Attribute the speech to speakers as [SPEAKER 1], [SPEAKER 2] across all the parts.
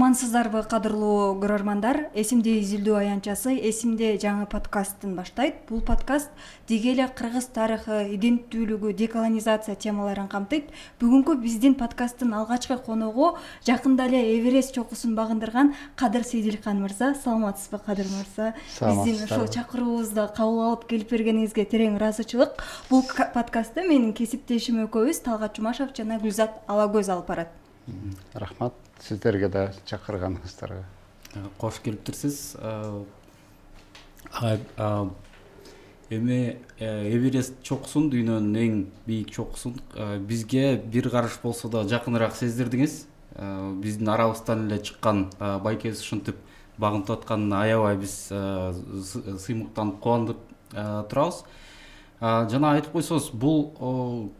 [SPEAKER 1] Амансыздарбы, кадырлуу көрөрмандар. Эсимде изилдөө аянтчасы Эсимде жаңы подкасттын баштайт. Бул подкаст деги эле кыргыз тарыхы, иденттүүлүгү, деколонизация темаларын камтыйт. Бүгүнкү биздин подкасттын алгачкы коногу жакында эле Эверест чокусун багындырган Кадыр Сейдилхан мырза. Саламатсызбы, Кадыр мырза? Биздин ушул чакыруубузду кабыл алып келип бергениңизге терең ыраазычылык. Бул подкастты менин кесиптешим экөөбүз Талгат Жумашев жана Гүлзат Алагөз алып барат.
[SPEAKER 2] Рахмат сиздерге да чакырганыңыздарга.
[SPEAKER 3] Кош келиптирсиз. Эми Эверест чокусун, дүйнөнүн эң бийик чокусун бизге бир караш болсо да жакыныраак сездирдиңиз. Биздин арабыздан эле чыккан байкебиз ушинтип багынтып атканына аябай биз сыймыктанып кубанып турабыз. Жана айтып койсоңуз, бул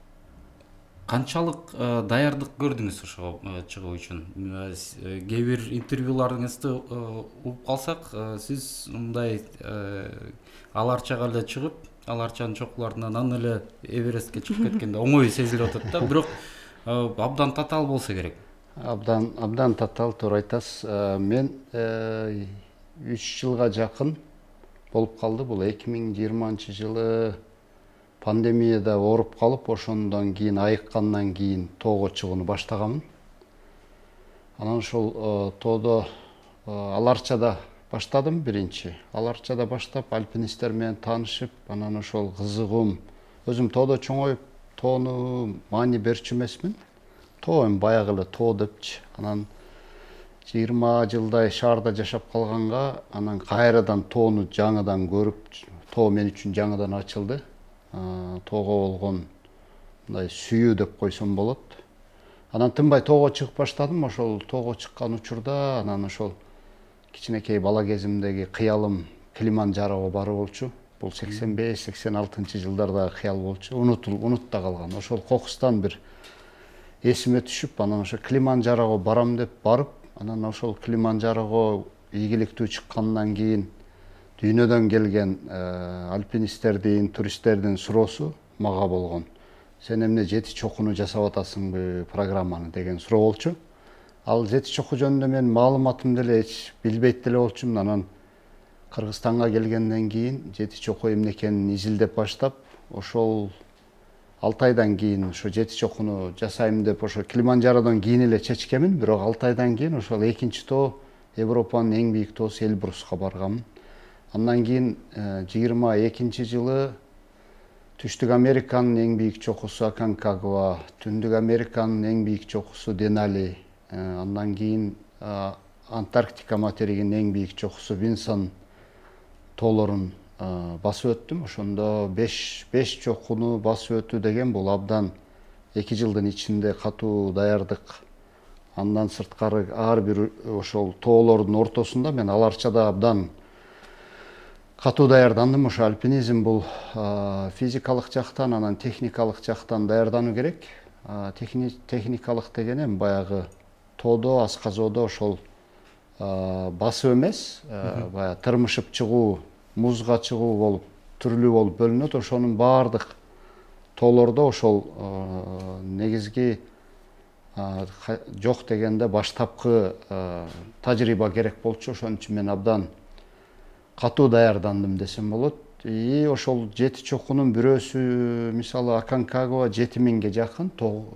[SPEAKER 3] канчалык даярдык көрдүңүз ошого чыгуу үчүн? Кээ бир интервьюларыңызды угуп калсак, сиз мындай аларчага эле чыгып, аларчанын чокуларынан анан эле Эверестке чыгып кеткенде оңой сезилип атат да, бирок абдан татаал болсо керек.
[SPEAKER 2] Абдан татаал, туура айтасыз. Мен 3 жылга жакын болуп калды. Бул 2020-жылы пандемияда ооруп калып, ошондон кийин айыккандан кийин тоого чыгууну баштаганмын. Анан ошол тоодо Аларчада баштадым биринчи. Аларчада баштап альпинисттер менен таанышып, анан ошол кызыгым. Өзүм тоодо чоңоюп, тоону маани берчү эмесмин. Тоо эми баягы эле тоо депчи. Анан 20 жылдай шаарда жашап калганга, анан кайрадан тоону жаңыдан көрүп, тоо мен үчүн жаңыдан ачылды. Тоого болгон мындай сүйүү деп койсом болот. Анан тынбай тоого чыгып баштадым. Ошол тоого чыккан учурда анан ошол кичинекей бала кезимдеги кыялым Килиманджарого баруу болчу. Бул 85-86 жылдардагы кыял болчу. Унутта калган. Ошол кокустан бир эсиме түшүп, анан ошо Килиманджарого барам деп барып, анан ошол Килиманджарого ийгиликтүү чыккандан кийин дүйнөдөн келген альпинисттердин, туристтердин суроосу мага болгон. Сен эмне жети чокуну жасап атасыңбы программаны деген суроо болчу. Ал жети чоку жөнүндө мен маалыматымды эле эч билбейт деле болчумун. Анан Кыргызстанга келгенден кийин жети чоку эмне экенин изилдеп баштап, ошол 6 айдан кийин ошо жети чокуну жасайм деп ошо Килиманджародон кийин эле чечкемин. Бирок 6 айдан кийин ошол экинчи тоо, Европанын эң бийик тоосу Эльбруска барганмын. Андан кийин 22-жылы Түштүк Американын эң бийик чокусу Аконкагуа, Түндүк Американын эң бийик чокусу Денали, андан кийин Антарктика материгинин эң бийик чокусу Винсон тоолорун басып өттүм. Ошондо 5 чокуну басып өтүү деген бул абдан 2 жылдын ичинде катуу даярдык. Андан сырткары ар бир ошол тоолордун ортосунда мен Аларчада абдан катуу даярдандым. Ошо альпинизм бул физикалык жактан, анан техникалык жактан даярдануу керек. Техникалык деген эми баягы тоодо, асказоодо ошол басып эмес, баягы тырмышып чыгуу, музга чыгуу болуп, түрлүү болуп бөлүнөт. Ошонун баардык тоолордо ошол негизги жок дегенде баштапкы тажрыйба керек болчу. Ошон үчүн мен абдан катуу даярдандым десем болот. И ошол жети чокунун бирөөсү, мисалы Аконкагуа 7000ге жакын,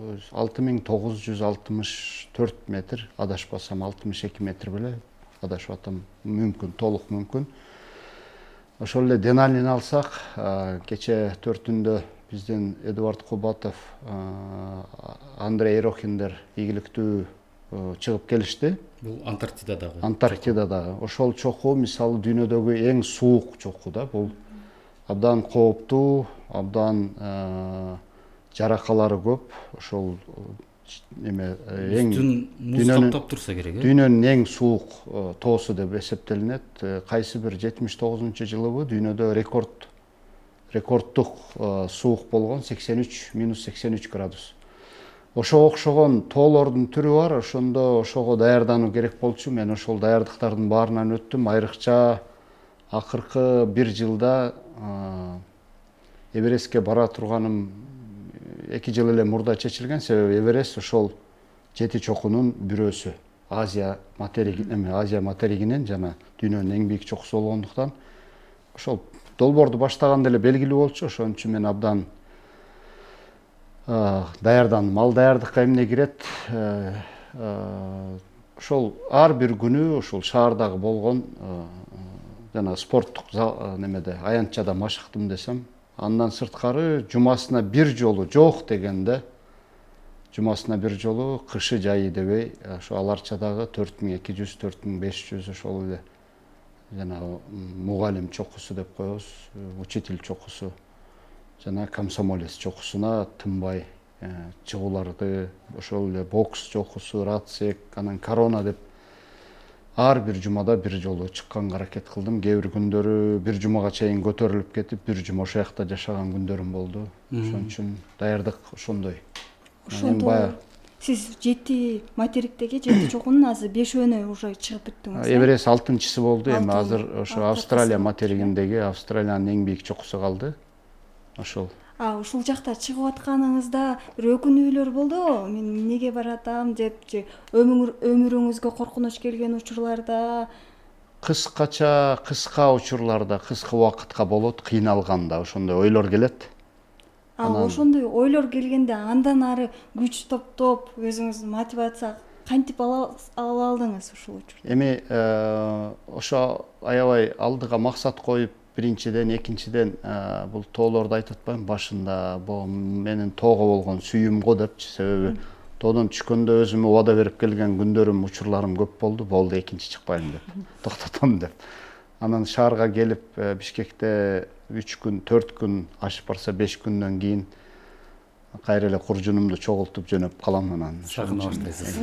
[SPEAKER 2] 6964 метр, адашпасам 62 метр беле, адашып атам, мүмкүн, толук мүмкүн. Ошол эле Деналини алсак, кече 4-түндө биздин Эдуард Кубатов, Андрей Ерохиндер ийгиликтүү чыгып келишти.
[SPEAKER 3] Бул Антарктидадагы.
[SPEAKER 2] Антарктидадагы. Ошол чоку мисалы дүйнөдөгү эң суук чоку да. Бул абдан кооптуу, абдан жаракалары көп. Ошол эме эң
[SPEAKER 3] муз каптап турса керек,
[SPEAKER 2] дүйнөнүн эң суук тоосу деп эсептелинет. Кайсы бир 79-жылыбы дүйнөдө рекордтук суук болгон, -83 градус. Ошого окшогон тоолордун түрү бар, ошондо ошого даярдануу керек болчу. Мен ошол даярдыктардын баарынан өттүм. Айрыкча акыркы 1 жылда Эверестке бара турганым 2 жыл эле мурда чечилген. Себеби Эверест ошол жети чокунун бирөөсү. Азия материгинен жана дүйнөнүн эң бийик чокусу болгондуктан ошол долбоорду баштаганда эле белгилүү болчу. Ошон үчүн мен абдан даярдандым. Ал даярдыкка эмне кирет? Ошол ар бир күнү ушул шаардагы болгон жана спорттук немеде аянтчада машыктым десем, андан сырткары жумасына бир жолу жок дегенде, жумасына бир жолу кышы жайы дебей ошо Аларчадагы 4200 4500 ошол эле жана мугалим чокусу деп коебуз, учитель чокусу жана комсомолец чокусуна тынбай чыгууларды, ошол эле бокс чокусу, радсек, анан корона деп ар бир жумада бир жолу чыкканга аракет кылдым. Кээ бир күндөрү бир жумага чейин көтөрүлүп кетип, бир жума ошол жакта жашаган күндөрүм болду. Ошон үчүн даярдык ошондой.
[SPEAKER 1] Ошондо сиз 7 материктеги 7 чокунун азыр 5өөнө уже чыгып бүттүңүз.
[SPEAKER 2] Эверест 6-чысы болду. Эми азыр ошо Австралия материгиндеги Австралиянын эң бийик чокусу калды. Ошол.
[SPEAKER 1] Ушул жакта чыгып атканыңызда бир өкүнүүлөр болдубу? Мен эмнеге баратам деп же өмүрүңүзгө коркунуч келген учурларда?
[SPEAKER 2] Кыска учурларда, кыска убакытка болот, кыйналганда ошондой ойлор келет.
[SPEAKER 1] Ошондой ойлор келгенде андан ары күч топтоп, өзүңүздү мотивация кантип ала алдыңыз ушул учурда?
[SPEAKER 2] Эми ошо аябай алдыга максат коюп, биринчиден, экинчиден бул тоолорду айтып атпайм башында, бул менин тоого болгон сүйүүм го депчи. Себеби тоодон түшкөндө өзүмө убада берип келген күндөрүм, учурларым көп болду. Болду, экинчи чыкпайм деп, токтотом деп. Анан шаарга келип, Бишкекте 3 күн, 4 күн, ашып барса 5 күндөн кийин кайра эле куржунумду чогултуп жөнөп калам. Анан
[SPEAKER 3] сагына баштайсыз.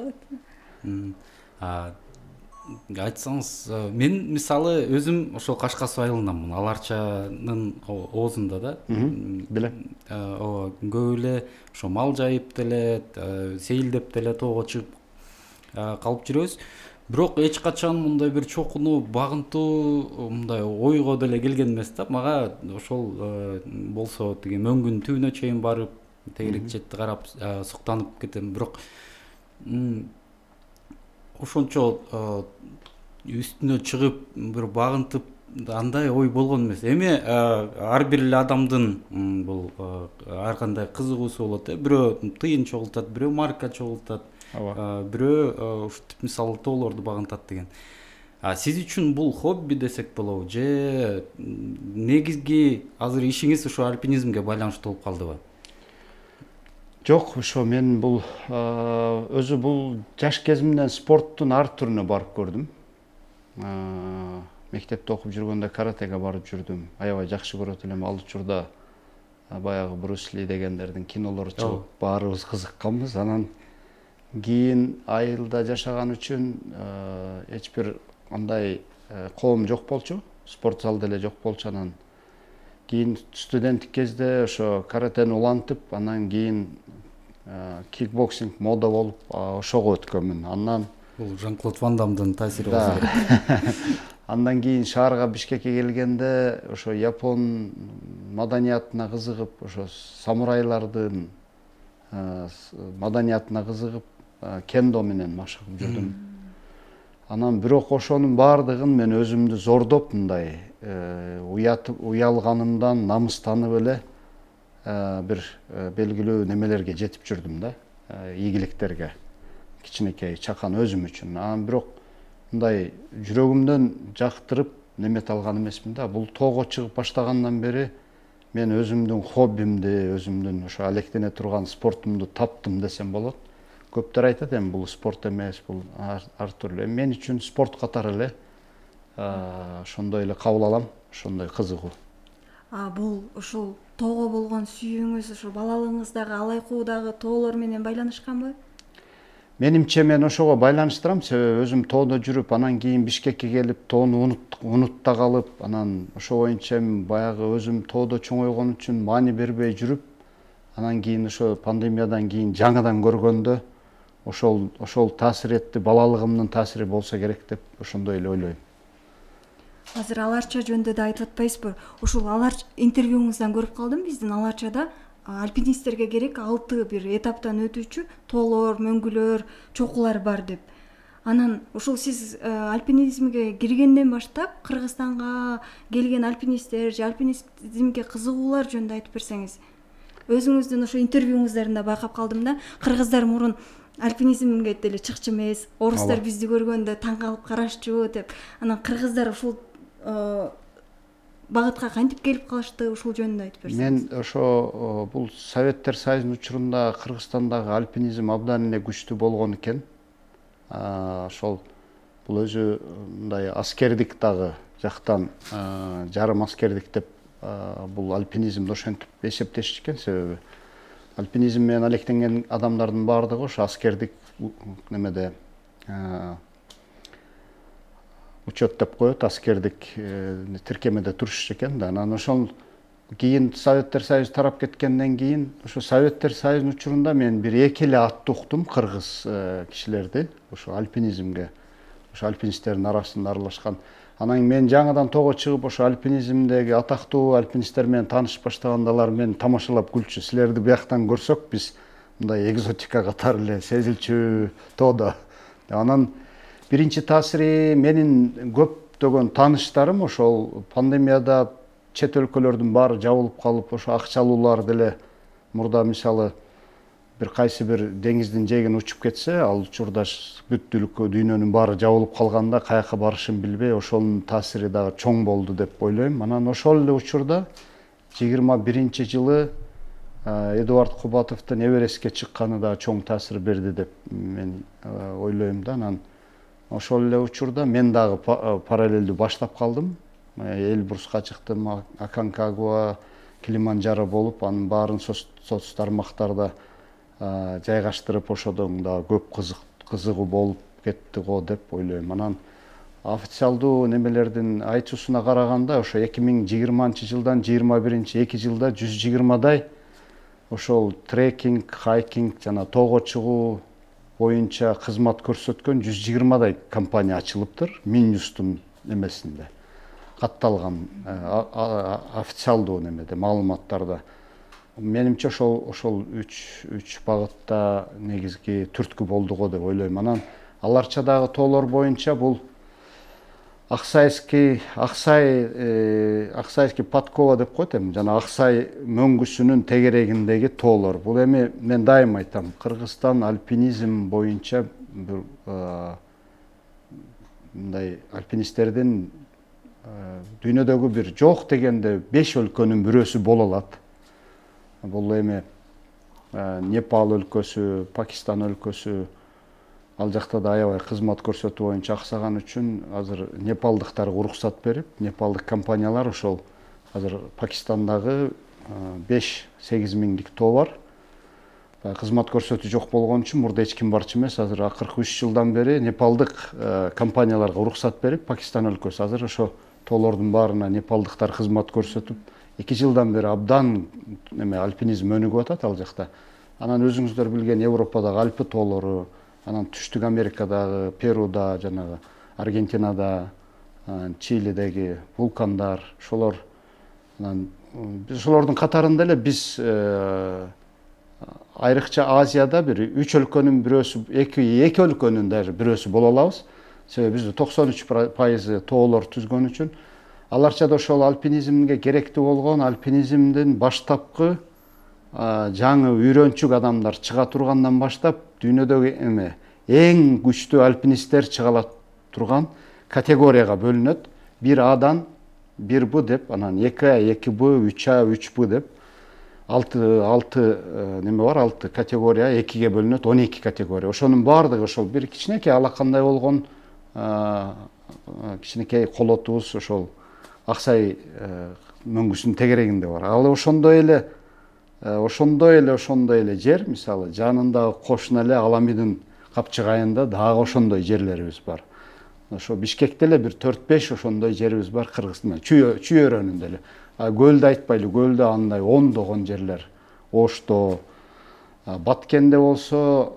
[SPEAKER 3] Айтсаңыз, мен мисалы өзүм ошол Кашкас айылынданмын, Аларчанын оозунда да.
[SPEAKER 2] Билем.
[SPEAKER 3] Көп эле ошо мал жайып деле, сейилдеп деле тоого чыгып калып жүрөбүз. Бирок эч качан мындай бир чокуну багынтуу мындай ойго деле келген эмес да. Мага ошол болсо тиги мөңгүн түбүнө чейин барып, тегерек четти карап суктанып кетем. Бирок ошончо үстүнө чыгып бир багынтып андай ой болгон эмес. Эми ар бир эле адамдын бул ар кандай кызыгуусу болот. Бирөө тыйын чогултат, бирөө марка чогултат, бирөө ушинтип мисалы тоолорду багынтат деген. Сиз үчүн бул хобби десек болобу же негизги азыр ишиңиз ушу альпинизмге байланыштуу болуп калдыбы?
[SPEAKER 2] Жок, ошо мен бул өзү бул жаш кезимден спорттун ар түрүнө барып көрдүм. Мектепте окуп жүргөндө каратеге барып жүрдүм. Аябай жакшы көрөт элем. Ал учурда баягы Брюс Ли дегендердин кинолору чыгып, баарыбыз кызыкканбыз. Анан кийин айылда жашаган үчүн эч бир андай коом жок болчу. Спорт зал деле жок болчу. Анан кийин студенттик кезде ошо каратени улантып, анан кийин кикбоксинг мода болуп, ошого өткөнмүн. Андан
[SPEAKER 3] бул Жан-Клод Ван Дамдын таасири болсо керек.
[SPEAKER 2] Андан кийин шаарга Бишкекке келгенде ошо япон маданиятына кызыгып, ошо самурайлардын маданиятына кызыгып, кендо менен машыгып жүрдүм. Анан бирок ошонун баардыгын мен өзүмдү зордоп, мындай уялганымдан намыстанып эле бир белгилүү немелерге жетип жүрдүм да, ийгиликтерге. Кичинекей чакан өзүм үчүн. Анан бирок мындай жүрөгүмдөн жактырып немет алган эмесмин да. Бул тоого чыгып баштагандан бери мен өзүмдүн хоббимди, өзүмдүн ошо алектене турган спортумду таптым десем болот. Көптөр айтат, эми бул спорт эмес, бул ар түрлүү. Мен үчүн спорт катары эле ошондой эле кабыл алам, ошондой кызыгуу.
[SPEAKER 1] Бул ушул тоого болгон сүйүүңүз ошо балалыгыңыздагы алайкуудагы тоолор менен байланышканбы?
[SPEAKER 2] Менимче мен ошого байланыштырам, себеби өзүм тоодо жүрүп, анан кийин Бишкекке келип, тоону унутта калып, анан ошо боюнча баягы өзүм тоодо чоңойгон үчүн маани бербей жүрүп, анан кийин ошо пандемиядан кийин жаңыдан көргөндө ошол таасир этти, балалыгымдын таасири болсо керек деп ошондой эле ойлойм.
[SPEAKER 1] Азыр Аларча жөнүндө да айтып атпайсызбы? Ушул интервьюңуздан көрүп калдым, биздин Аларчада альпинисттерге керек 6 бир этаптан өтүүчү тоолор, мөңгүлөр, чокулар бар деп. Анан ушул сиз альпинизмге киргенден баштап Кыргызстанга келген альпинисттер же альпинизмге кызыгуулар жөнүндө айтып берсеңиз. Өзүңүздүн ошо интервьюңуздарында байкап калдым да, кыргыздар мурун альпинизмге деле чыкчу эмес, орустар бизди көргөндө таң калып карашчу деп. Анан кыргыздар ушул багытка кантип келип калышты, ушул жөнүндө айтып берсеңиз.
[SPEAKER 2] Мен ошо бул Советтер Союзунун учурунда Кыргызстандагы альпинизм абдан эле күчтүү болгон экен. Ошол бул өзү мындай аскердик дагы жактан жарым аскердик деп бул альпинизмди ошентип эсептешкен. Себеби альпинизм менен алектенген адамдардын баардыгы ошо аскердик немеде учет деп коет, аскердик тиркемеде турушчу экен да. Анан ошол кийин Советтер Союзу тарап кеткенден кийин ошо Советтер Союзунун учурунда мен бир эки эле атты уктум кыргыз кишилерди ошо альпинизмге, ошо альпинисттердин арасында аралашкан. Анан мен жаңыдан тоого чыгып ошо альпинизмдеги атактуу альпинисттер менен таанышып баштаганда алар мени тамашалап күлчү. Силерди бияктан көрсөк биз мындай экзотика катары эле сезилчү тоодо. Анан биринчи таасири менин көптөгөн тааныштарым ошол пандемияда чет өлкөлөрдүн баары жабылып калып, ошо акчалуулар деле мурда мисалы бир кайсы бир деңиздин жээгине учуп кетсе, ал учурда бүт дүйнөнүн баары жабылып калганда каяка барышын билбей, ошонун таасири дагы чоң болду деп ойлойм. Анан ошол эле учурда 21-жылы Эдуард Кубатовдун Эверестке чыкканы да чоң таасир берди деп мен ойлойм да. Анан ошол эле учурда мен дагы параллелдүү баштап калдым. Эльбруска чыктым, Аконкагуа, Килиманджаро болуп, анын баарын соц тармактарда жайгаштырып, ошодон да көп кызыгуу болуп кетти го деп ойлойм. Анан официалдуу немелердин айтуусуна караганда ошо 2020-жылдан 21-2 жылда 120дай ошол трекинг, хайкинг жана тоого чыгуу боюнча кызмат көрсөткөн 120дай компания ачылыптыр. Минюстун немесинде катталган официалдуу немеде маалыматтарда. Менимче ошол үч багытта негизги түрткү болду го деп ойлойм. Анан аларча дагы тоолор боюнча бул Аксайский Подкова деп коет эми, жана Аксай мөңгүсүнүн тегерегиндеги тоолор. Бул эми мен дайым айтам, Кыргызстан альпинизм боюнча бир мындай альпинисттердин дүйнөдөгү бир жок дегенде 5 өлкөнүн бирөөсү боло алат. Бул эми Непал өлкөсү, Пакистан өлкөсү, ал жакта да аябай кызмат көрсөтүү боюнча аксаган үчүн азыр непалдыктарга уруксат берип, непалдык компаниялар ошол азыр Пакистандагы 5-8 миңдик тоо бар. Кызмат көрсөтүү жок болгон үчүн мурда эч ким барчу эмес. Азыр акыркы 3 жылдан бери непалдык компанияларга уруксат берип, Пакистан өлкөсү азыр ошо тоолордун баарына непалдыктар кызмат көрсөтүп, 2 жылдан бери абдан альпинизм өнүгүп атат ал жакта. Анан өзүңүздөр билген Европадагы Альпы тоолору, анан Түштүк Америкадагы, Перуда, жанагы Аргентинада, Чилидеги вулкандар, ошолор. Анан биз ошолордун катарында эле биз айрыкча Азияда бир 3 өлкөнүн бирөөсү, 2 өлкөнүн даже бирөөсү боло алабыз. Себеби бизде 93% тоолор түзгөн үчүн аларча да ошол альпинизмге керектүү болгон альпинизмдин баштапкы жаңы үйрөнчүк адамдар чыга тургандан баштап дүйнөдөгү эң күчтүү альпинисттер чыга турган категорияга бөлүнөт. 1Адан 1Б деп, анан 2А, 2Б, 3А, 3Б деп 6 неме бар, 6 категория 2ге бөлүнөт, 12 категория. Ошонун баардыгы ошол бир кичинекей алакандай болгон кичинекей колотубуз ошол Аксай мөңгүсүнүн тегерегинде бар. Ал ошондой эле жер, мисалы жанындагы кошуна эле Аламидин капчыгайында дагы ошондой жерлерибиз бар. Ошо Бишкекте эле бир 4-5 ошондой жерибиз бар Кыргызстанда, Чүй өрөөнүндө эле. Көлдү айтпайлы, көлдө андай ондогон жерлер. Ошто, Баткенде болсо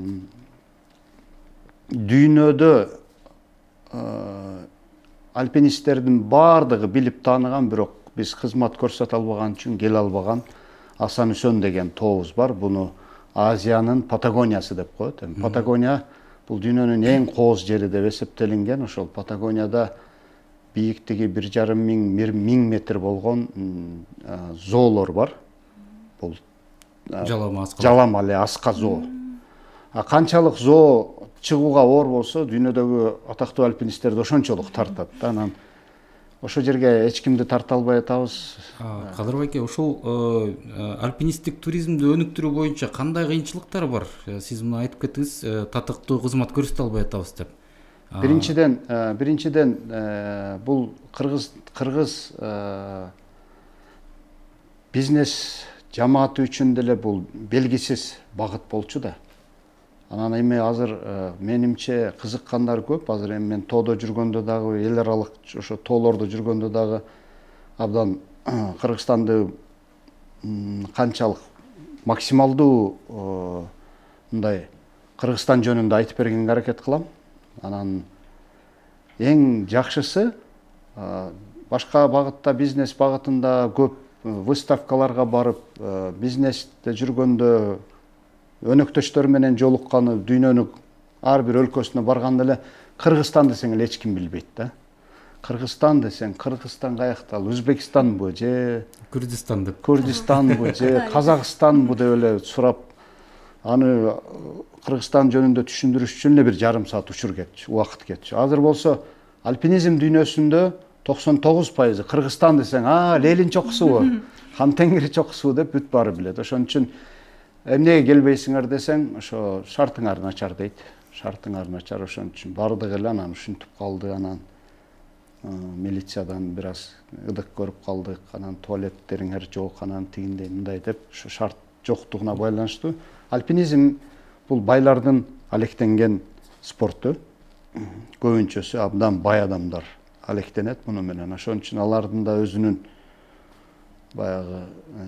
[SPEAKER 2] дүйнөдө альпинисттердин баардыгы билип тааныган, бирок биз кызмат көрсөтө албаган үчүн келе албаган Асан Үсөн деген тообуз бар. Буну Азиянын Патагониясы деп коет. Патагония бул дүйнөнүн эң кооз жери деп эсептелинген. Ошол Патагонияда бийиктиги 1,5 миң метр болгон зоолор бар. Бул жалама эле аска зоо. Канчалык зоо чыгууга оор болсо, дүйнөдөгү атактуу альпинисттерди ошончолук тартат да. Анан ошол жерге эч кимди тарта албай атабыз.
[SPEAKER 3] Кадыр байке, ошол альпинисттик туризмди өнүктүрүү боюнча кандай кыйынчылыктар бар? Сиз муну айтып кеттиңиз, татыктуу кызмат көрсөтө албай атабыз деп.
[SPEAKER 2] Биринчиден бул кыргыз бизнес жамааты үчүн деле бул белгисиз багыт болчу да. Анан эми азыр менимче кызыккандар көп. Азыр эми мен тоодо жүргөндө дагы, эл аралык ошо тоолордо жүргөндө дагы абдан Кыргызстанды канчалык максималдуу мындай Кыргызстан жөнүндө айтып бергенге аракет кылам. Анан эң жакшысы башка багытта, бизнес багытында көп выставкаларга барып, бизнесте жүргөндө өнөктөштөр менен жолукканы, дүйнөнүн ар бир өлкөсүнө барганда эле Кыргызстан десең эле эч ким билбейт да. Кыргызстан десең, Кыргызстан каякта, Өзбекстанбы же Күрдистанбы же Казакстанбы деп эле сурап, аны Кыргызстан жөнүндө түшүндүрүш үчүн эле бир жарым саат учур кетчү, убакыт кетчү. Азыр болсо альпинизм дүйнөсүндө 99% Кыргызстан десең, Ленин чокусубу, Хан Теңир чокусубу деп бүт баары билет. Ошон үчүн эмнеге келбейсиңер десең, ошо шартыңар начар дейт. Шартыңар начар, ошон үчүн бардык эле анан ушинтип калды. Анан милициядан бир аз ыдык көрүп калдык. Анан туалеттериңер жок, анан тигиндей мындай деп, ошо шарт жоктугуна байланыштуу. Альпинизм бул байлардын алектенген спорту. Көбүнчөсү абдан бай адамдар алектенет муну менен. Ошон үчүн алардын да өзүнүн баягы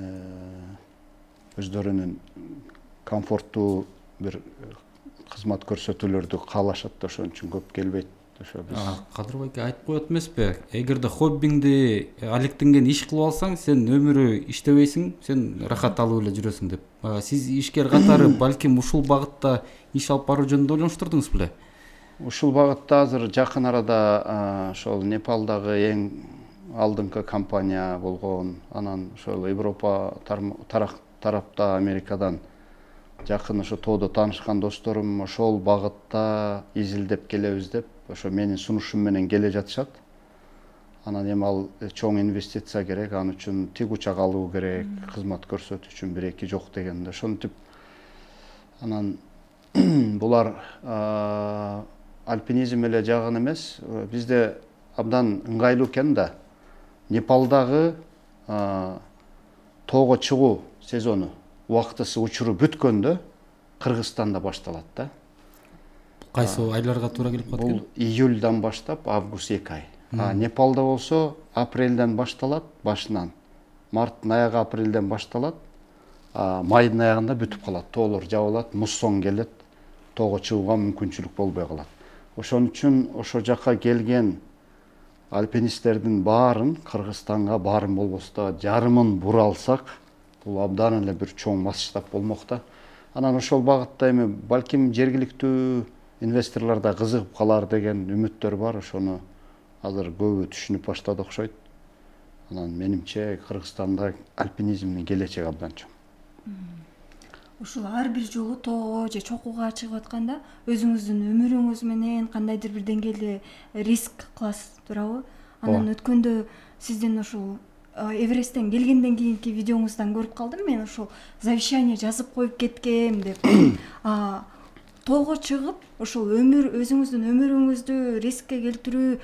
[SPEAKER 2] өздөрүнүн комфорттуу бир кызмат көрсөтүүлөрдү каалашат да, ошон үчүн көп келбейт. Ошо биз
[SPEAKER 3] Кадыр байке айтып коет эмеспи? Эгерде хоббиңди алектенген иш кылып алсаң, сен өмүрү иштебейсиң, сен рахат алып эле жүрөсүң деп. Сиз ишкер катары балким ушул багытта иш алып баруу жөнүндө ойлонуштурдуңуз беле?
[SPEAKER 2] Ушул багытта азыр жакын арада ошол Непалдагы эң алдыңкы компания болгон, анан ошол Европа тарапта Америкадан жакын ошо тоодо таанышкан досторум ошол багытта изилдеп келебиз деп, ошо менин сунушум менен келе жатышат. Анан эми ал чоң инвестиция керек, ал үчүн тик учак алуу керек, кызмат көрсөтүү үчүн 1-2 жок дегенде. Ошентип анан булар альпинизм эле жагын эмес, бизде абдан ыңгайлуу экен да. Непалдагы тоого чыгуу сезону убактысы учуру бүткөндө Кыргызстанда башталат да.
[SPEAKER 3] Кайсы айларга туура келип калат экен?
[SPEAKER 2] Бул июльдан баштап август 2 ай. Непалда болсо апрелден башталат, башынан. Марттын аягы апрелден башталат, майдын аягында бүтүп калат. Тоолор жабылат, муссон келет, тоого чыгууга мүмкүнчүлүк болбой калат. Ошон үчүн ошо жакка келген альпинисттердин баарын Кыргызстанга, баарын болбосо да жарымын бура алсак, бул абдан эле бир чоң масштаб болмок да. Анан ошол багытта эми балким жергиликтүү инвесторлор да кызыгып калар деген үмүттөр бар. Ошону азыр көбү түшүнүп баштады окшойт. Анан менимче Кыргызстанда альпинизмдин келечеги абдан чоң.
[SPEAKER 1] Ушул ар бир жолу тоого же чокууга чыгып атканда өзүңүздүн өмүрүңүз менен кандайдыр бир деңгээлде риск кыласыз, туурабы? Анан өткөндө сиздин ушул Эвересттен келгенден кийинки видеоңуздан көрүп калдым мен, ушул завещание жазып коюп кеткем деп. Тоого чыгып, ушул өзүңүздүн өмүрүңүздү рискке келтирүү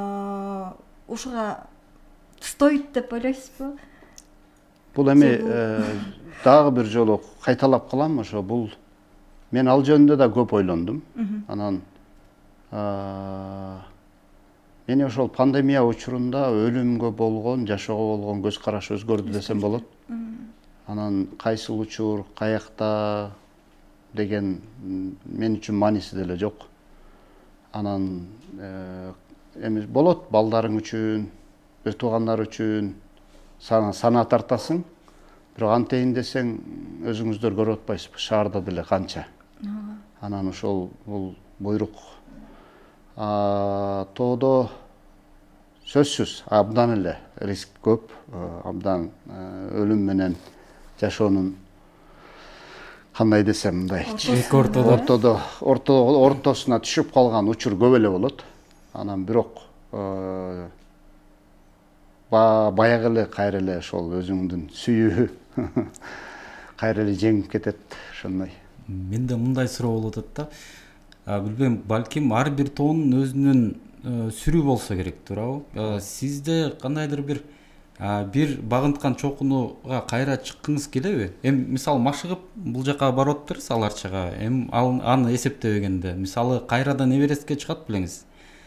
[SPEAKER 1] ушуга стоит деп ойлойсузбу?
[SPEAKER 2] Бул эми дагы бир жолу кайталап калам, ошо бул мен ал жөнүндө да көп ойлондум. Анан мени ошол пандемия учурунда өлүмгө болгон, жашоого болгон көз караш өзгөрдү десем болот. Анан кайсыл учур, каякта деген мен үчүн мааниси деле жок. Анан эми болот балдарың үчүн, өз туугандар үчүн сана тартасың. Бирок антейин десең өзүңүздөр көрүп атпайсызбы, шаарда деле канча. Анан ошол бул буйрук. Тоодо сөзсүз абдан эле риск көп, абдан өлүм менен жашоонун кандай десем мындай ортосуна түшүп калган учур көп эле болот. Анан бирок баягы эле кайра эле ошол өзүңдүн сүйүү кайра эле жеңип кетет ошондой.
[SPEAKER 3] Менде мындай суроо болуп атат да. Билбейм, балким ар бир тоонун өзүнүн сүрүү болсо керек, туурабы? Сизде кандайдыр бир багынткан чокунуга кайра чыккыңыз келеби? Мисалы машыгып бул жака барып атыптырсыз аларчага. Аны эсептебегенде, мисалы кайрадан Эверестке чыгат белеңиз.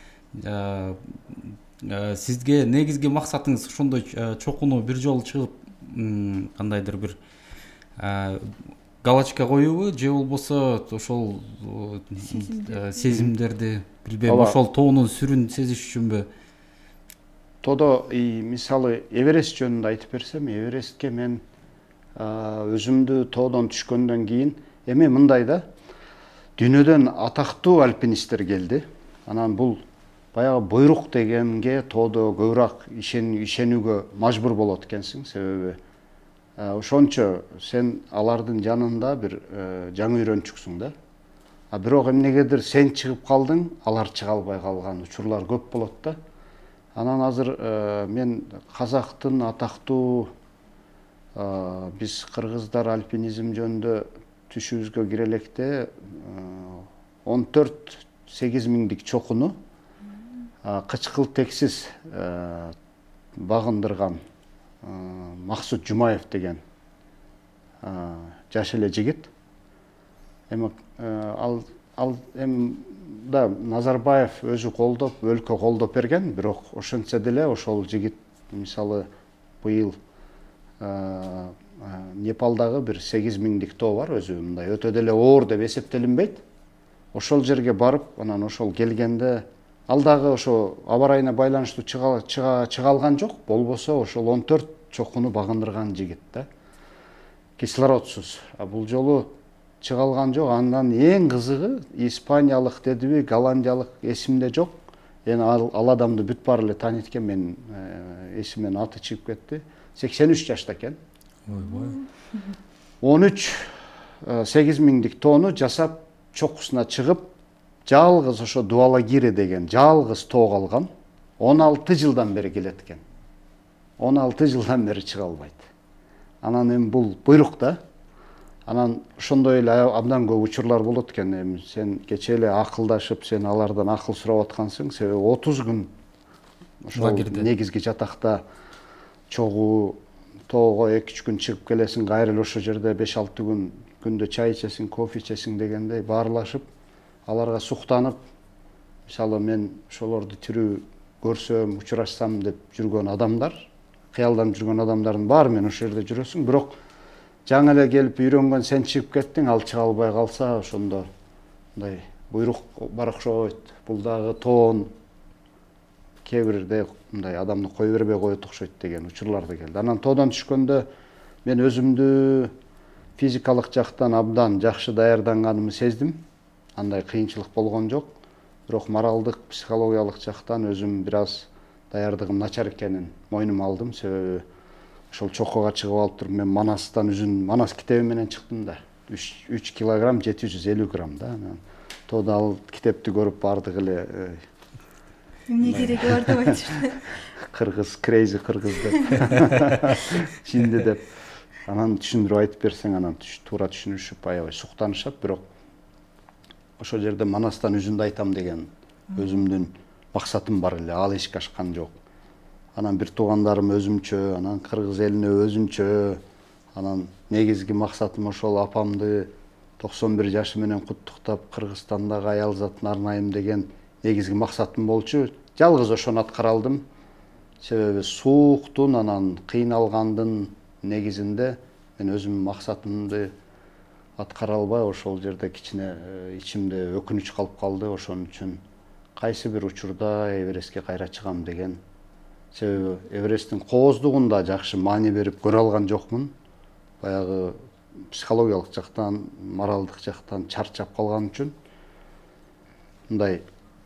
[SPEAKER 3] Сизге негизги максатыңыз ошондой чокуну бир жолу чыгып кандайдыр бир галочка коюубу, же болбосо ошол сезимдерди, билбейм, ошол тоонун сүрүн сезиш үчүнбү?
[SPEAKER 2] Тодо мисалы Эверест жөнүндө айтып берсем, Эверестке мен өзүмдү тоодон түшкөндөн кийин эми мындай да, дүйнөдөн атактуу альпинисттер келди. Анан бул баягы буйрук дегенге тоодо көбүрөөк ишенүүгө мажбур болот экенсиң, себеби ошончо сен алардын жанында бир жаңы үйрөнчүксүң да. Бирок эмнегедир сен чыгып калдың, алар чыга албай калган учурлар көп болот да. Анан азыр мен казактын атактуу биз кыргыздар альпинизм жөнүндө түшүбүзгө кире электе 14-8 миңдик чокуну кычкыл тексиз багындырган Максут Жумаев деген жаш эле жигит. Ал да Назарбаев өзү колдоп, өлкө колдоп берген, бирок ошентсе деле ошол жигит мисалы быйыл Непалдагы бир 8 миңдик тоо бар, өзү мындай өтө деле оор деп эсептелинбейт. Ошол жерге барып, анан ошол келгенде ал дагы ошо аба ырайына байланыштуу чыга алган жок, болбосо ошол 14 чокуну багындырган жигит да. Кислородсуз. Бул жолу чыга алган жок. Андан эң кызыгы испаниялык дедиби, голландиялык эсимде жок. Эми ал адамды бүт баары эле тааныйт экен, мен эсимден аты чыгып кетти. 83 жашта экен.
[SPEAKER 3] Ойбой.
[SPEAKER 2] 8 миңдик тоону жасап чокусуна чыгып, жалгыз ошо Дуалагири деген жалгыз тоо калган. 16 жылдан бери келет экен. 16 жылдан бери чыга албайт. Анан эми бул буйрук да. Анан ошондой эле абдан көп учурлар болот экен. Эми сен кечээ эле акылдашып, сен алардан акыл сурап аткансың, себеби 30 күн ошол негизги жатакта чогуу тоого 2-3 күн чыгып келесиң, кайра эле ошол жерде 5-6 күн күндө чай ичесиң, кофе ичесиң дегендей баарлашып, аларга суктанып, мисалы мен ошолорду тирүү көрсөм, учурашсам деп жүргөн адамдар, кыялданып жүргөн адамдардын баары менен ошол жерде жүрөсүң, бирок жаңы эле келип үйрөнгөн сен чыгып кеттиң, ал чыга албай калса, ошондо мындай буйрук бар окшойт. Бул дагы тоон кээ бирде мындай адамды кое бербей коет окшойт деген учурлар да келди. Анан тоодон түшкөндө мен өзүмдү физикалык жактан абдан жакшы даярданганымды сездим. Андай кыйынчылык болгон жок. Бирок моралдык, психологиялык жактан өзүм бир аз даярдыгым начар экенин мойнума алдым, себеби ошол чокуга чыгып алып туруп мен Манастан Манас китеби менен чыктым да. 3 килограмм 750 грамм да. Анан тоодо ал китепти көрүп бардык эле
[SPEAKER 1] эмне кереги бар деп айтышты.
[SPEAKER 2] Кыргыз, крейзи кыргыз деп. Жинди деп. Анан түшүндүрүп айтып берсең, анан туура түшүнүшүп, аябай суктанышат, бирок ошол жерде Манастан үзүндү айтам деген өзүмдүн максатым бар эле, ал эшикке ашкан жок. Анан бир туугандарым өзүмчө, анан кыргыз элине өзүнчө, анан негизги максатым ошол апамды 91 жашы менен куттуктап, Кыргызстандагы аял затын арнайым деген негизги максатым болчу. Жалгыз ошону аткара алдым. Себеби сууктун, анан кыйналгандын негизинде мен өзүмдүн максатымды аткара албай, ошол жерде кичине ичимде өкүнүч калып калды. Ошон үчүн кайсы бир учурда Эверестке кайра чыгам деген. Себеби Эвересттин кооздугунда жакшы маани берип көрө алган жокмун. Баягы психологиялык жактан, моралдык жактан чарчап калган үчүн мындай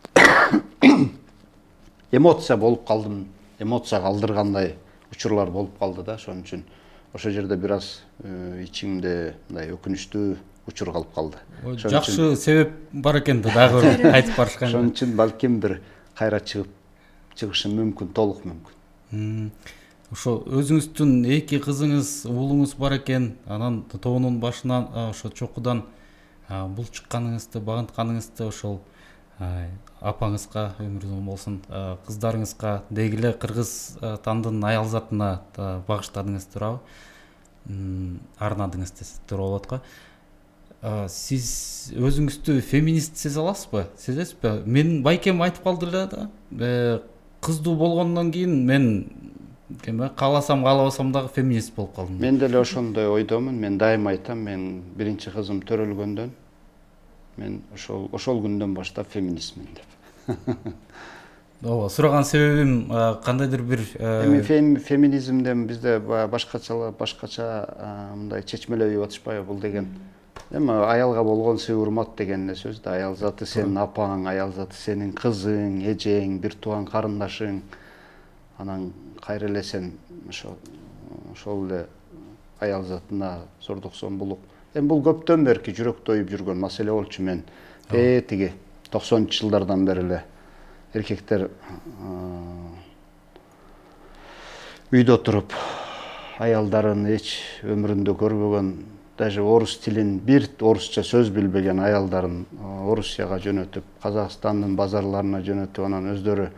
[SPEAKER 2] эмоция болуп калдым, эмоция калдыргандай учурлар болуп калды да. Ошон үчүн ошол жерде бир аз ичимде мындай өкүнүчтүү учур калып калды.
[SPEAKER 3] Жакшы себеп бар экен да, дагы кайтып барышкан.
[SPEAKER 2] Ошон үчүн балким бир кайра чыгышым мүмкүн, толук мүмкүн.
[SPEAKER 3] Ошо өзүңүздүн 2 кызыңыз, уулуңуз бар экен. Анан тоонун башынан ошо чокудан бул чыкканыңызды, багынтканыңызды ошол апаңызга өмүр uzun болсун, кыздарыңызга дегиле кыргыз тандын аялзатына багыштадыңыз туурабы? Арнадыңыз десек болот го. Сиз өзүңүздү феминист сезе аласызбы? Сезесизби? Мен байкем айтып калды эле да. Кыздуу болгондон кийин мен кааласам каалабасам дагы феминист болуп калдым.
[SPEAKER 2] Мен деле ошондой ойдомун. Мен дайыма айтам, мен биринчи кызым төрөлгөндөн мен ошол күндөн баштап феминистмин деп.
[SPEAKER 3] Ооба, сураган себебим кандайдыр бир
[SPEAKER 2] эми феминизмден бизде башкача мындай чечмелеп атышпайбы бул деген. Эми аялга болгон сый урмат деген сөз да. Аял заты сенин апаң, аял заты сенин кызың, эжең, бир тууган карындашың. Анан кайра эле сен ошол эле аял затына зордуксоң булук. Эми бул көптөн берки жүрөктө оюп жүргөн маселе болчу. Мен тиги 90-жылдардан бери эле эркектер үйдө туруп аялдарын эч өмүрүндө көрбөгөн, даже орус тилин, бир орусча сөз билбеген аялдарын Орусияга жөнөтүп, Казакстандын базарларына жөнөтүп, анан өздөрү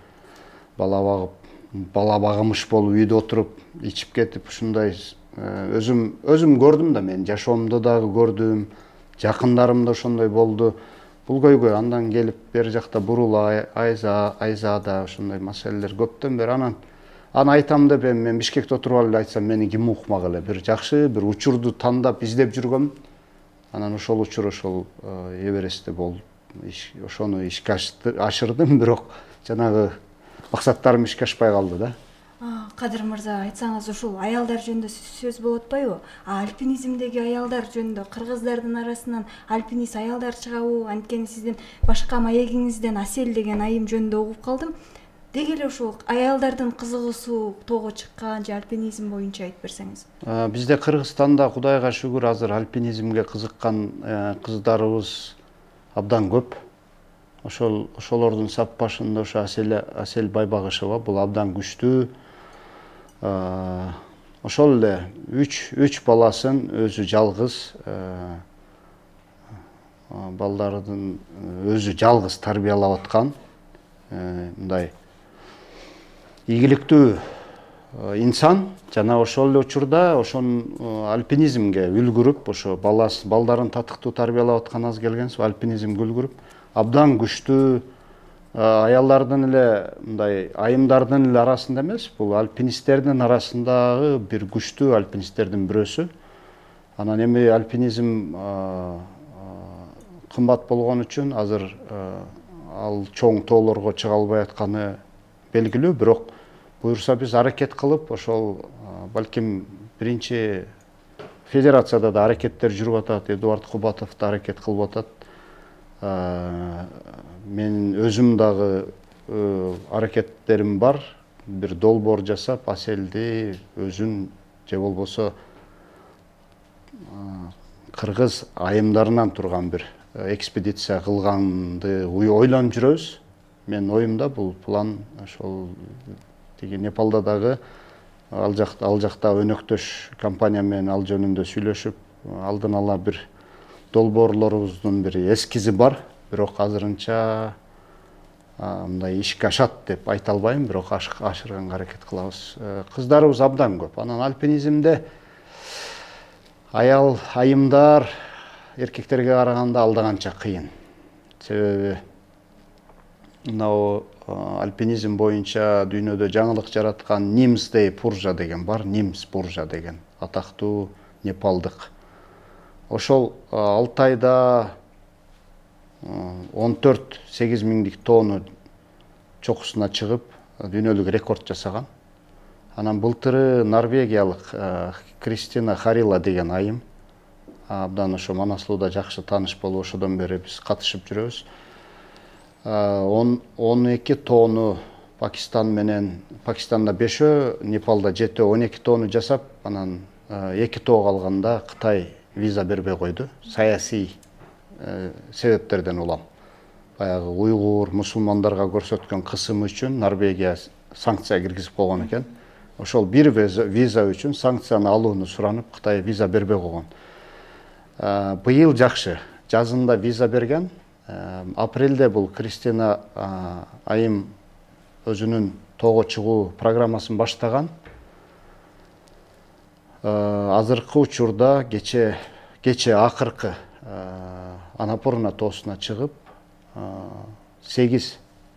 [SPEAKER 2] бала багымыш болуп үйдө отуруп, ичип кетип, ушундай өзүм көрдүм да, мен жашоомдо дагы көрдүм, жакындарымда ошондой болду. Бул көйгөй андан келип бери жакта Бурула, Айзада ошондой маселелер көптөн бери. Анан айтам деп мен Бишкекте отуруп алып айтсам, мени ким укмак эле. Бир жакшы бир учурду тандап издеп жүргөм. Анан ошол учур ошол Эверестте болуп, ошону ишке ашырдым, бирок жанагы максаттарым ишке ашпай калды да.
[SPEAKER 1] Кадыр мырза, айтсаңыз, ушул аялдар жөнүндө сөз болуп атпайбы? Альпинизмдеги аялдар жөнүндө кыргыздардын арасынан альпинист аялдар чыгабы? Анткени сиздин башка маегиңизден Асел деген айым жөнүндө угуп калдым. Деги эле ушул аялдардын кызыгуусу тоого чыккан же альпинизм боюнча айтып берсеңиз.
[SPEAKER 2] Бизде Кыргызстанда Кудайга шүгүр азыр альпинизмге кызыккан кыздарыбыз абдан көп. Ошолордун сап башында ошо Асел Байбагышева, бул абдан күчтүү. Ошол эле 3 баласын өзү жалгыз, балдардын өзү жалгыз тарбиялап аткан, мындай ийгиликтүү инсан. Жана ошол эле учурда ошон альпинизмге үлгүрүп, ошо балдарын татыктуу тарбиялап аткан аз келгенсиз, альпинизмге үлгүрүп, абдан күчтүү аялдардын эле мындай айымдардын эле арасында эмес, бул альпинисттердин арасындагы бир күчтүү альпинисттердин бирөөсү. Анан эми альпинизм кымбат болгон үчүн азыр ал чоң тоолорго чыга албай атканы белгилүү, бирок буюрса биз аракет кылып, ошол балким биринчи федерацияда да аракеттер жүрүп атат, Эдуард Кубатов да аракет кылып атат. Мен өзүм дагы аракеттерим бар. Бир долбоор жасап, Аселди өзүн же болбосо кыргыз айымдарынан турган бир экспедиция кылганды ойлонуп жүрөбүз. Мен оюмда бул план ошол тиги Непалда дагы ал жакта өнөктөш компания менен ал жөнүндө сүйлөшүп, алдын ала бир долбоорлорубуздун бир эскизи бар. Бирок азырынча мындай ишке ашат деп айта албайм, бирок ашырганга аракет кылабыз. Кыздарыбыз абдан көп. Анан альпинизмде айымдар эркектерге караганда алда канча кыйын. Себеби мынау альпинизм боюнча дүйнөдө жаңылык жараткан Нимсдей Пуржа деген бар, Нимс Пуржа деген атактуу непалдык. Ошол 6 айда 14-8 миңдик тонну чокусуна чыгып, дүйнөлүк рекорд жасаган. Анан былтыры норвегиялык Кристина Харила деген айым, абдан ошо Манаслууда жакшы тааныш болуп, ошодон бери биз катышып жүрөбүз. 12 тонну Пакистан менен, Пакистанда 5, Непалда 7, 12 тонну жасап, анан 2 тоо калганда Кытай виза бербей койду. Саясий себептерден улам. Баягы уйгур мусулмандарга көрсөткөн кысымы үчүн Норвегия санкция киргизип койгон экен. Ошол бир виза үчүн санкцияны алууну суранып, Кытай виза бербей койгон. Быйыл жакшы, жазында виза берген. Апрелде бул Кристина айым өзүнүн тоого чыгуу программасын баштаган. Азыркы учурда кече акыркы Анапурна тоосуна чыгып 8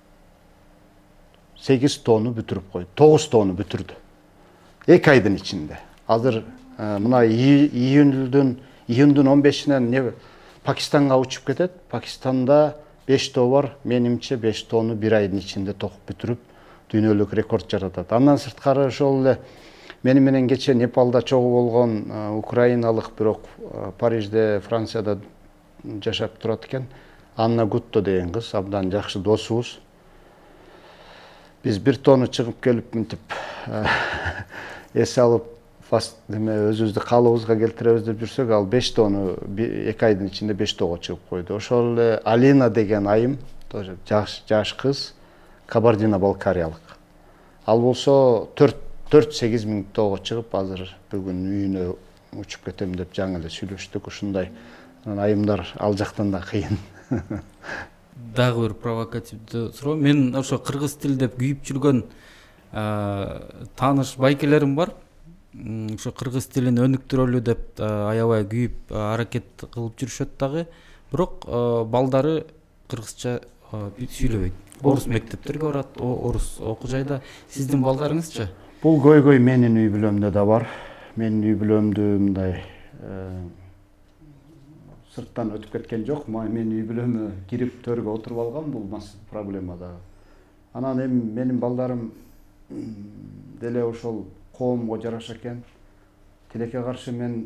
[SPEAKER 2] тонну бүтүрүп койду. 9 тонну бүтүрдү. 2 айдын ичинде. Азыр мына июндун 15-инен Пакистанга учуп кетет. Пакистанда 5 тоо бар. Менимче 5 тонну 1 айдын ичинде токуп бүтүрүп дүйнөлүк рекорд жаратат. Андан сырткары ошол эле мени менен кече Непалда чогуу болгон украиналык, бирок Парижде, Францияда жашап турат экен. Анна Гутто деген кыз, абдан жакшы досубуз. Биз 1 тонну чыгып келип мынтип эс алып өзүбүздү калыбызга келтиребиз деп жүрсөк, ал 5 тонну 2 айдын ичинде 5 тоого чыгып койду. Ошол эле Алина деген айым, тоже жаш кыз, Кабардино-Балкариялык. Ал болсо 4-8 миң тоого чыгып, азыр бүгүн үйүнө учуп кетем деп жаңы эле сүйлөштүк. Ушундай айымдар ал жактан да кыйын.
[SPEAKER 3] Дагы бир провокативдүү суроо. Мен ошо кыргыз тилде күйүп жүргөн тааныш байкелерим бар. Ошо кыргыз тилин өнүктүрөлү деп аябай күйүп аракет кылып жүрүшөт дагы. Бирок балдары кыргызча сүйлөбөйт. Орус мектептерге барат, орус окуу жайда. Сиздин балдарыңызчы?
[SPEAKER 2] Бул көйгөй менин үй бүлөмдө да бар. Менин үй бүлөмдү мындай сырттан өтүп кеткен жок. Менин үй бүлөмө кирип төргө отуруп алган, бул проблема да. Анан эми менин балдарым деле ошол коомго жараша экен. Тилекке каршы мен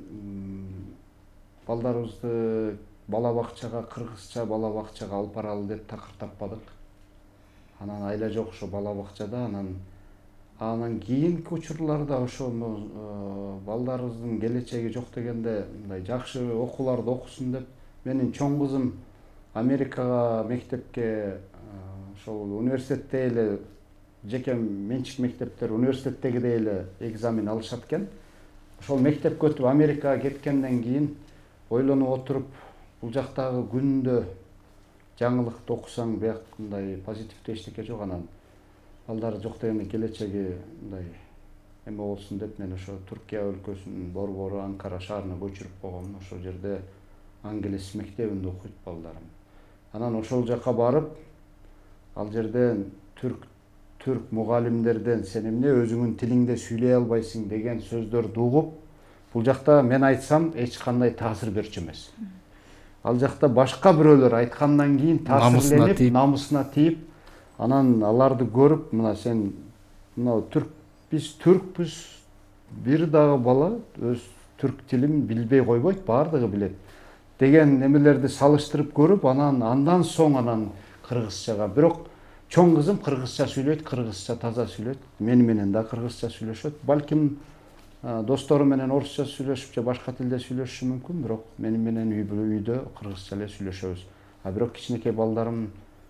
[SPEAKER 2] балдарыбызды бала бакчага, кыргызча бала бакчага алып баралы деп такыр таппадык. Анан айла жок ошо бала бакчада, анан кийинки учурларда ошо балдарыбыздын келечеги жок дегенде мындай жакшы окууларды окусун деп менин чоң кызым Америкага мектепке, ошол университетте эле жеке менчик мектептер университеттегидей эле экзамен алышат экен. Ошол мектепке өтүп Америкага кеткенден кийин ойлонуп отуруп, бул жактагы күндө жаңылыкты окусаң бияк мындай позитивдүү эчтеке жок, анан балдары жок дегенде келечеги мындай эме болсун деп мен ошо Түркия өлкөсүнүн борбору Анкара шаарына көчүрүп койгом. Ошол жерде англис мектебинде окуйт балдарым. Анан ошол жака барып, ал жерден түрк мугалимдерден сен эмне өзүңүн тилиңде сүйлөй албайсың деген сөздөрдү угуп, бул жакта мен айтсам эч кандай таасир берчү эмес. Ал жакта башка бирөөлөр айткандан кийин таасирленип, намысына тийип, анан аларды көрүп, мына сен мына биз түркпүз, бир дагы бала өз түрк тилин билбей койбойт, баардыгы билет деген немелерди салыштырып көрүп, андан соң кыргызчага. Бирок чоң кызым кыргызча сүйлөйт, кыргызча таза сүйлөйт. Мени менен да кыргызча сүйлөшөт. Балким достору менен орусча сүйлөшүп же башка тилде сүйлөшүшү мүмкүн, бирок мени менен үйдө кыргызча эле сүйлөшөбүз. Бирок кичинекей балдарым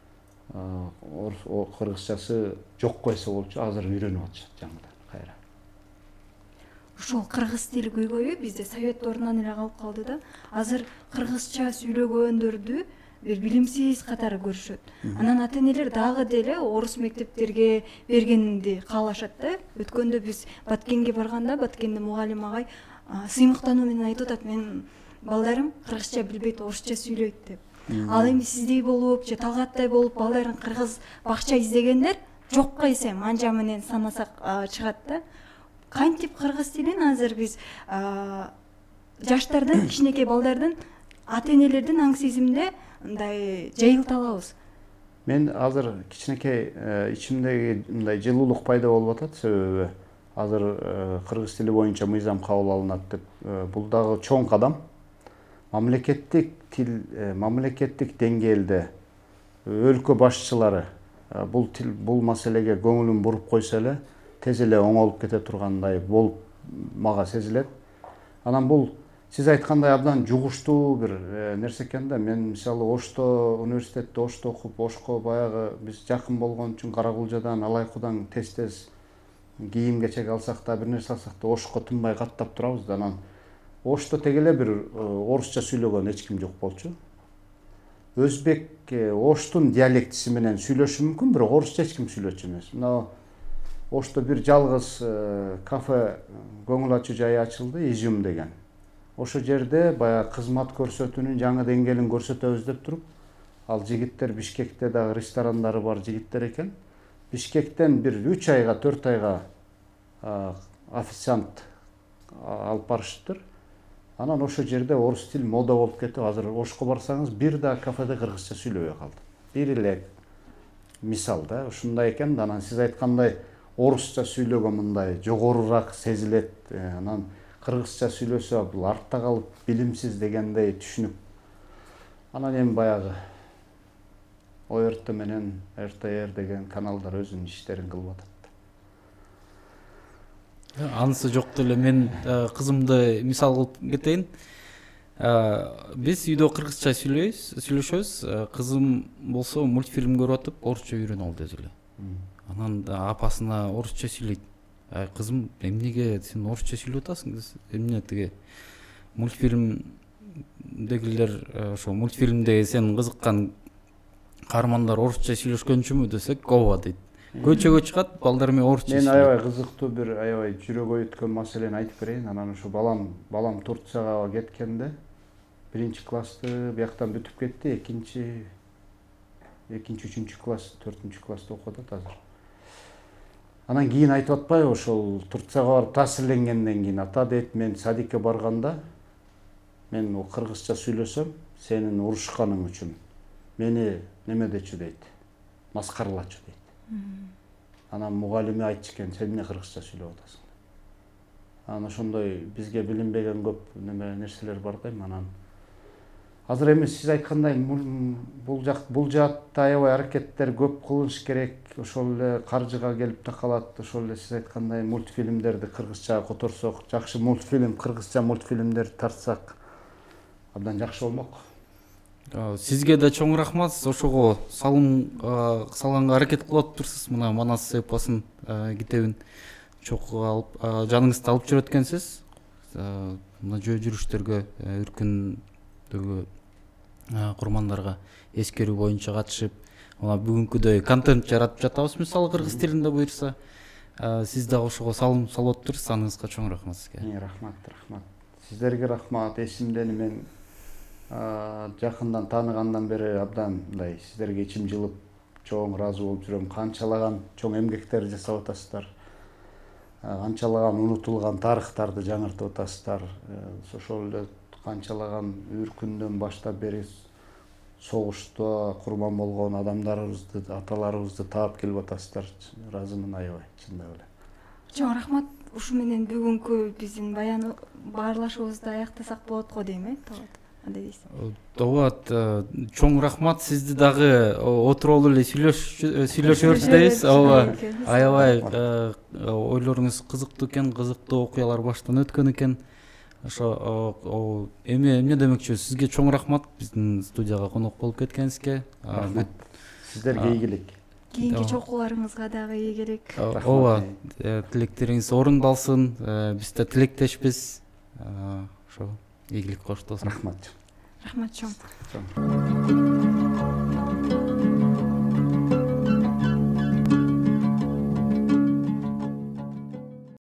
[SPEAKER 2] кыргызчасы жок койсо болчу, азыр үйрөнүп атышат жаңыдан кайра.
[SPEAKER 1] Ошол кыргыз тили көйгөйү бизде совет ордунан эле калып калды да. Азыр кыргызча сүйлөгөндөрдү билимсиз катары көрүшөт. Анан ата-энелер дагы деле орус мектептерге бергенди каалашат да. Өткөндө биз Баткенге барганда, Баткенде мугалим агай сыймыктануу менен айтып атат, менин балдарым кыргызча билбейт, орусча сүйлөйт деп. Ал эми сиздей болуп же Талгаттай болуп балдарын кыргыз бакча издегендер жокко эсем анжа менен санасак чыгат да. Кантип кыргыз тилин азыр биз жаштардан, кичинекей балдардан, ата-энелердин аң сезимде мындай жайылта алабыз?
[SPEAKER 2] Мен азыр кичинекей ичимдеги мындай жылуулук пайда болуп атат, себеби азыр кыргыз тили боюнча мыйзам кабыл алынат деп. Бул дагы чоң кадам. Мамлекеттик деңгээлде өлкө башчылары бул маселеге көңүлүн буруп койсо эле тез эле оңолуп кете тургандай болуп мага сезилет. Анан бул сиз айткандай абдан жугуштуу бир нерсе экен да. Мен мисалы Ошто университетте Ошто окуп, Ошко баягы биз жакын болгон үчүн Каракулжадан, Алайкудан тез кийим кечек алсак да, бир нерсе алсак да Ошко тынбай каттап турабыз да. Анан Ошто теге эле бир орусча сүйлөгөн эч ким жок болчу. Өзбек Оштун диалектиси менен сүйлөшү мүмкүн, бирок орусча эч ким сүйлөчү эмес. Мына Ошто бир жалгыз кафе көңүл ачуу жай ачылды, Изюм деген. Ошо жерде баягы кызмат көрсөтүүнүн жаңы деңгээлин көрсөтөбүз деп туруп, ал жигиттер Бишкекте дагы ресторандары бар жигиттер экен. Бишкектен бир 3 айга, 4 айга официант алып барышыптыр. Анан ошо жерде орус тил мода болуп кетип, азыр Ошко барсаңыз бир да кафеде кыргызча сүйлөбөй калды. Бир эле мисал да, ушундай экен да. Анан сиз айткандай орусча сүйлөгөн мындай жогорураак сезилет. Анан кыргызча сүйлөсө бул артта калып билимсиз дегендей түшүнүк. Анан эми баягы ОРТ менен РТР деген каналдар өзүнүн иштерин кылып атат.
[SPEAKER 3] Анысы жок деле мен кызымды мисал кылып кетейин. Биз үйдө кыргызча сүйлөшөбүз. Кызым болсо мультфильм көрүп атып, орусча үйрөнүп алды өзү эле. Анан апасына орусча сүйлөйт. Кызым, эмнеге сен орусча сүйлөп атасың? Эмне тиги мультфильмдегилер, ошо мультфильмде сен кызыккан каармандар орусча сүйлөшкөнчүмү десек, ооба дейт. Көчөгө чыгат, балдар менен орусча сүйлөйт.
[SPEAKER 2] Мен аябай кызыктуу бир аябай жүрөгү өткөн маселени айтып берейин. Анан ушу балам Турцияга кеткенде 1-классты бияктан бүтүп кетти, 2-3 класс, 4-класста окуп атат азыр. Анан кийин айтып атпайбы, ошол Турцияга барып таасирленгенден кийин ата дейт, мен садикке барганда мен кыргызча сүйлөсөм, сенин урушканың үчүн мени неме дечү дейт, маскаралачу дейт. Анан мугалими айтчу экен, сен эмне кыргызча сүйлөп атасың? Анан ошондой бизге билинбеген көп нерселер бар да. Анан азыр эми сиз айткандай бул жаатта аябай аракеттер көп кылыш керек. Ошол эле каржыга келип такалат. Ошол эле сиз айткандай мультфильмдерди кыргызчага которсок, жакшы кыргызча мультфильмдер тартсак абдан жакшы болмок.
[SPEAKER 3] Сизге да чоң рахмат. Ошого салганга аракет кылып турсуз. Мына Манас эпосун китебин чокуга алып, жаныңызда алып жүрөт экенсиз. Мына жөө жүрүштөргө, үркүндөгү курмандарга эскерүү боюнча катышып, мына бүгүнкүдөй контент жаратып жатабыз, мисалы кыргыз тилинде буюрса. Сиз дагы ошого салым салып атыптырсыз. Аныңызга чоң рахмат сизге.
[SPEAKER 2] Рахмат. Сиздерге рахмат. Эсимдени мен жакындан тааныгандан бери абдан мындай сиздерге ичим жылып, чоң ыраазы болуп жүрөм. Канчалаган чоң эмгектер жасап атасыздар. Канчалаган унутулган тарыхтарды жаңыртып атасыздар. Ошол эле канчалаган үркүндөн баштап бери согушта курман болгон адамдарыбызды, аталарыбызды таап келип атасыздар. Ыраазымын аябай, чындап эле.
[SPEAKER 1] Чоң рахмат. Ушу менен бүгүнкү биздин баарлашуубузду аяктасак болот го дейм,
[SPEAKER 3] Ооба, чоң рахмат. Сизди дагы отуруп эле сүйлөшөбүз дейбиз. Ооба, аябай ойлоруңуз кызыктуу экен, кызыктуу окуялар баштан өткөн экен. Ошо эмне демекчү, сизге чоң рахмат биздин студияга конок болуп кеткениңизге.
[SPEAKER 2] Сиздерге ийгилик.
[SPEAKER 1] Кийинки чокууларыңызга дагы ийгилик.
[SPEAKER 3] Ооба, тилектериңиз орундалсын. Биз да тилектешпиз. Ошо ийгилик коштосун.
[SPEAKER 2] Рахмат.
[SPEAKER 1] Рахмат чоң.